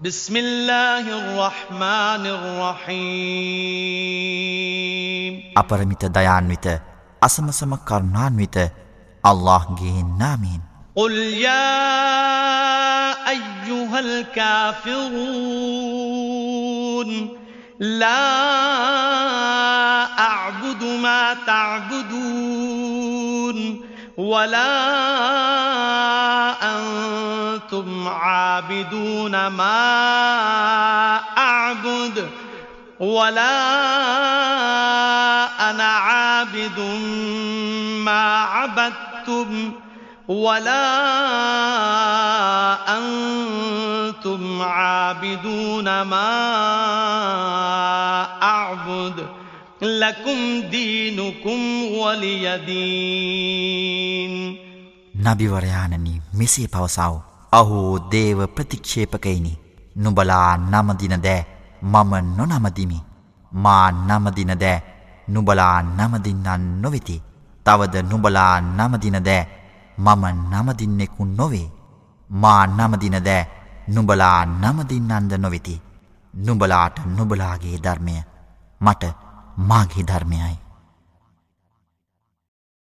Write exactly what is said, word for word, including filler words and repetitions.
بسم الله الرحمن الرحيم අපරිමිත දයාන්විත අසමසම කරුණාන්විත අල්ලාහ්ගේ නාමයෙන් قل يا أيها الكافرون لا أعبد ما تعبدون ولا أنتم عابدون ما أعبد ولا أنا عابد ما عبدتم ولا أنتم عابدون ما أعبد لكم دينكم ولي دين නබිවරයාණනි මෙසේ පවසව. අහෝ දේව ප්‍රතික්ෂේපකයිනි, නුඹලා නමදින දෑ මම නොනමදිමි. මා නමදින දෑ නුඹලා නමදින්නන් නොවෙති. තවද නුඹලා නමදින දෑ මම නමදින්නෙකු නොවේ. මා නමදින දෑ නුඹලා නමදින්නන්ද නොවෙති. නුඹලාට නුඹලාගේ ධර්මය, මට මාගේ ධර්මයයි.